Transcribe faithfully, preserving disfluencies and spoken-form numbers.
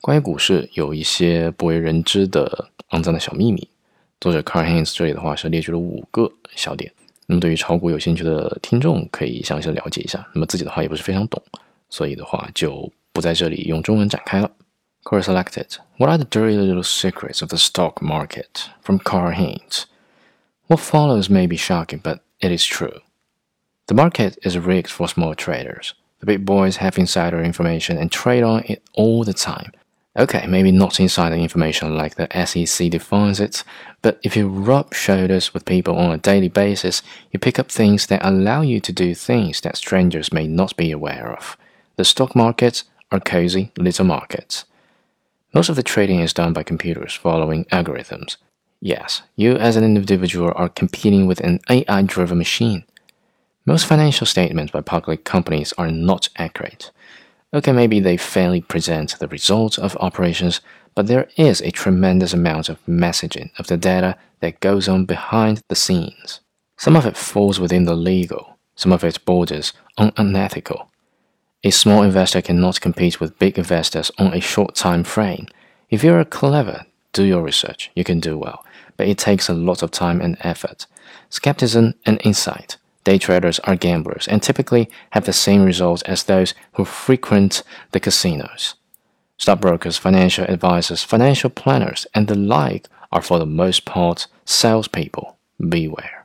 关于股市有一些不为人知的肮脏的小秘密，作者 Carl Haynes 这里的话是列举了五个小点。那么对于炒股有兴趣的听众可以详细的了解一下，那么自己的话也不是非常懂，所以的话就不在这里用中文展开了。Core selected. What are the dirty little secrets of the stock market? From Carl Haynes. What follows may be shocking, but it is true. The market is rigged for small traders. The big boys have insider information and trade on it all the time. Okay, maybe not insider information like the S E C defines it, but if you rub shoulders with people on a daily basis, you pick up things that allow you to do things that strangers may not be aware of. The stock markets are cozy little markets. Most of the trading is done by computers following algorithms. Yes, you as an individual are competing with an A I-driven machine. Most financial statements by public companies are not accurate. Okay, maybe they fairly present the results of operations, but there is a tremendous amount of messaging of the data that goes on behind the scenes. Some of it falls within the legal, some of it borders on unethical. A small investor cannot compete with big investors on a short time frame. If you are clever, do your research, you can do well, but it takes a lot of time and effort, skepticism and insight. Day traders are gamblers and typically have the same results as those who frequent the casinos. Stockbrokers, financial advisors, financial planners, and the like are for the most part salespeople. Beware.